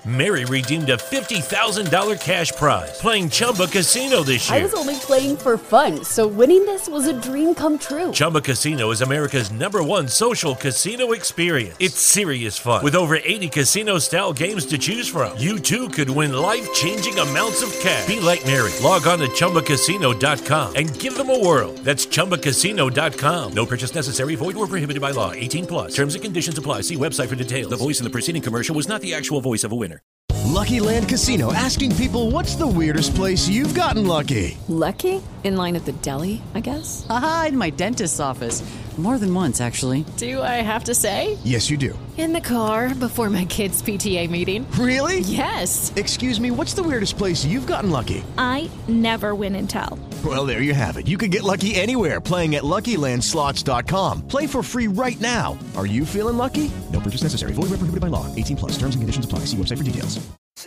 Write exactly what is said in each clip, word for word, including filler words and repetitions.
Mary redeemed a fifty thousand dollars cash prize playing Chumba Casino this year. I was only playing for fun, so winning this was a dream come true. Chumba Casino is America's number one social casino experience. It's serious fun. With over eighty casino-style games to choose from, you too could win life-changing amounts of cash. Be like Mary. Log on to Chumba Casino dot com and give them a whirl. That's Chumba Casino dot com. No purchase necessary. Void or prohibited by law. eighteen plus. Terms and conditions apply. See website for details. The voice in the preceding commercial was not the actual voice of a winner. Lucky Land Casino, asking people, what's the weirdest place you've gotten lucky? Lucky? In line at the deli, I guess? Aha, in my dentist's office. More than once, actually. Do I have to say? Yes, you do. In the car before my kids' P T A meeting. Really? Yes. Excuse me, what's the weirdest place you've gotten lucky? I never win and tell. Well, there you have it. You can get lucky anywhere, playing at Lucky Land Slots dot com. Play for free right now. Are you feeling lucky? No purchase necessary. Void where prohibited by law. eighteen plus. Terms and conditions apply. See website for details.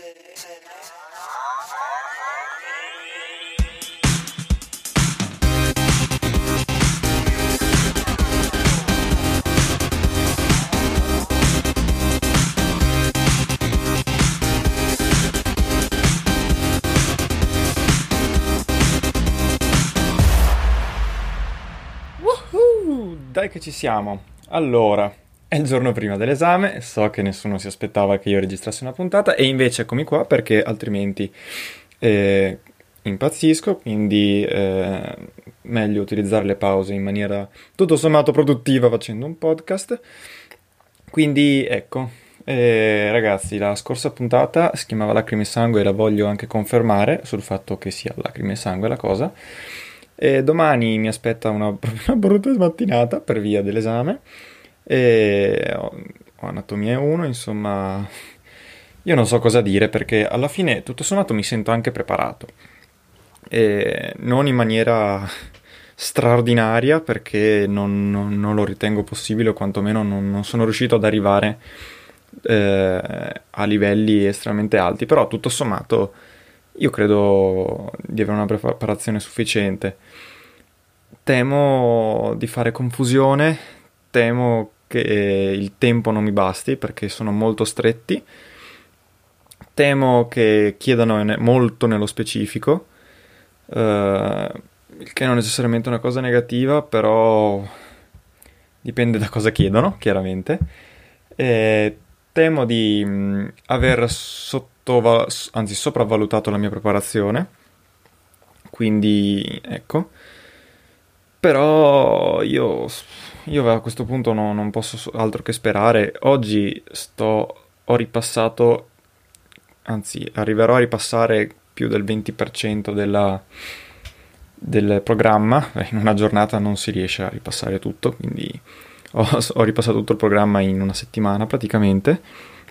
Dai che ci siamo. Allora, è il giorno prima dell'esame, so che nessuno si aspettava che io registrassi una puntata e invece eccomi qua perché altrimenti eh, impazzisco, quindi eh, meglio utilizzare le pause in maniera tutto sommato produttiva facendo un podcast. Quindi ecco, eh, ragazzi, la scorsa puntata si chiamava Lacrime e Sangue e la voglio anche confermare sul fatto che sia Lacrime e Sangue la cosa. E domani mi aspetta una, una brutta mattinata per via dell'esame e ho, ho anatomia uno, insomma io non so cosa dire perché alla fine tutto sommato mi sento anche preparato e non in maniera straordinaria perché non, non, non lo ritengo possibile o quantomeno non, non sono riuscito ad arrivare eh, a livelli estremamente alti, però tutto sommato io credo di avere una preparazione sufficiente. Temo di fare confusione, temo che il tempo non mi basti perché sono molto stretti, temo che chiedano molto nello specifico, eh, il che non è necessariamente una cosa negativa, però dipende da cosa chiedono, chiaramente. E temo di mh, aver sottoval- anzi sopravvalutato la mia preparazione, quindi ecco. Però io, io a questo punto no, non posso altro che sperare. Oggi sto, ho ripassato, anzi arriverò a ripassare più del venti per cento della, del programma. In una giornata non si riesce a ripassare tutto, quindi ho, ho ripassato tutto il programma in una settimana praticamente.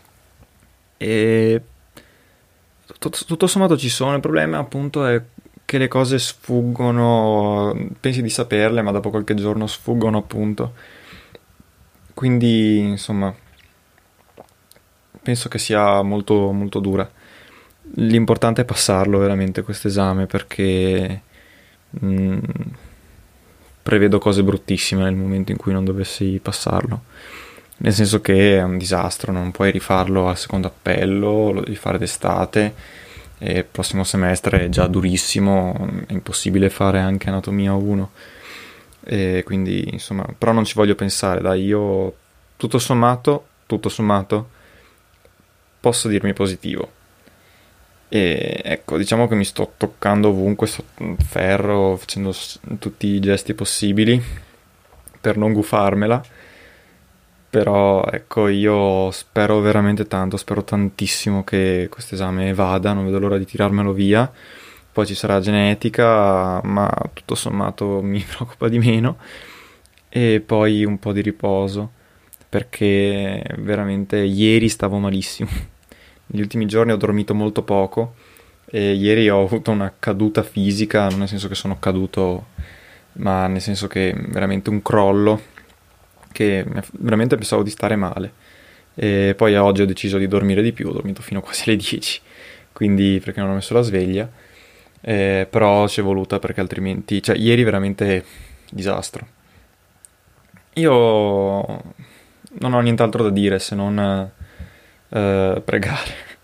E tutto, tutto sommato ci sono. Il problema appunto è che le cose sfuggono, pensi di saperle, ma dopo qualche giorno sfuggono appunto. Quindi, insomma, penso che sia molto, molto dura. L'importante è passarlo veramente questo esame perché mh, prevedo cose bruttissime nel momento in cui non dovessi passarlo. Nel senso che è un disastro, non puoi rifarlo al secondo appello, lo devi fare d'estate. E il prossimo semestre è già durissimo, è impossibile fare anche anatomia uno e quindi insomma, però non ci voglio pensare, dai, io tutto sommato tutto sommato posso dirmi positivo e ecco, diciamo che mi sto toccando ovunque sotto ferro, facendo tutti i gesti possibili per non gufarmela. Però ecco, io spero veramente tanto, spero tantissimo che questo esame vada, non vedo l'ora di tirarmelo via. Poi ci sarà genetica, ma tutto sommato mi preoccupa di meno. E poi un po' di riposo, perché veramente ieri stavo malissimo. Negli ultimi giorni ho dormito molto poco e ieri ho avuto una caduta fisica, non nel senso che sono caduto, ma nel senso che veramente un crollo, che veramente pensavo di stare male. E poi oggi ho deciso di dormire di più, ho dormito fino quasi alle dieci, quindi perché non ho messo la sveglia, eh, però ci è voluta perché altrimenti, cioè ieri veramente disastro. Io non ho nient'altro da dire se non eh, pregare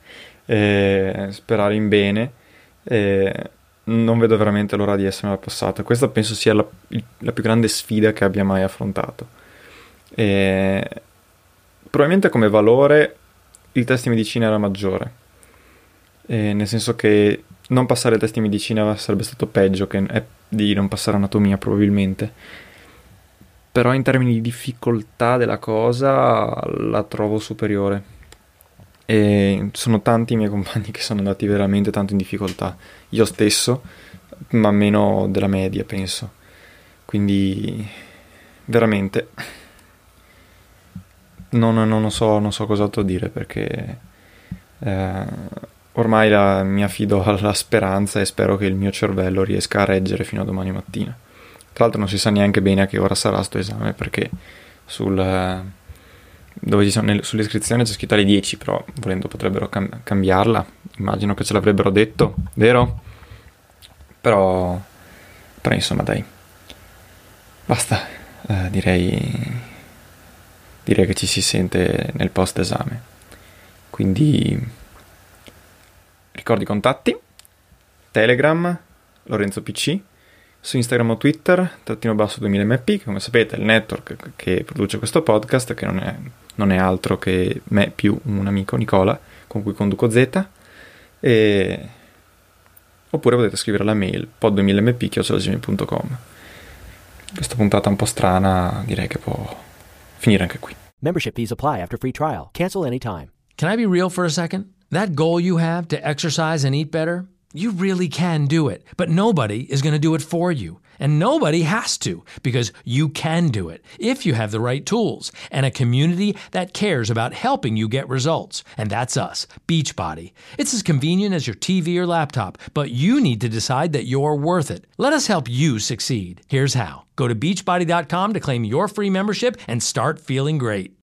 e sperare in bene. E non vedo veramente l'ora di essere al passato. Questa penso sia la, la più grande sfida che abbia mai affrontato. E probabilmente come valore il test di medicina era maggiore, e nel senso che non passare il test di medicina sarebbe stato peggio che è di non passare anatomia probabilmente, però in termini di difficoltà della cosa la trovo superiore, e sono tanti i miei compagni che sono andati veramente tanto in difficoltà, io stesso, ma meno della media penso, quindi veramente non, non so, non so cos'altro dire, perché eh, ormai la, mi affido alla speranza e spero che il mio cervello riesca a reggere fino a domani mattina. Tra l'altro non si sa neanche bene a che ora sarà sto esame, perché sul, dove ci sono, nel, sull'iscrizione c'è scritto alle dieci, però volendo potrebbero cam- cambiarla, immagino che ce l'avrebbero detto, vero? Però, però insomma dai, basta, eh, direi, direi che ci si sente nel post esame, quindi ricordi i contatti: Telegram Lorenzo P C, su Instagram o Twitter trattino basso duemila M P, che come sapete è il network che produce questo podcast, che non è, non è altro che me più un amico Nicola con cui conduco Z, e oppure potete scrivere alla mail pod duemila m p chiocciola gmail punto com. Questa puntata un po' strana direi che può finire anche qui. Membership fees apply after free trial. Cancel anytime. Can I be real for a second? That goal you have to exercise and eat better, you really can do it, but nobody is going to do it for you. And nobody has to, because you can do it if you have the right tools and a community that cares about helping you get results. And that's us, Beachbody. It's as convenient as your T V or laptop, but you need to decide that you're worth it. Let us help you succeed. Here's how. Go to beachbody dot com to claim your free membership and start feeling great.